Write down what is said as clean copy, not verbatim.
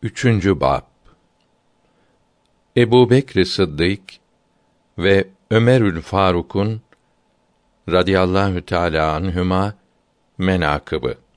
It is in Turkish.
Üçüncü bab. Ebu Bekr Sıddık ve Ömerül Faruk'un radıyallahu teâlâ anhüma menâkıbı.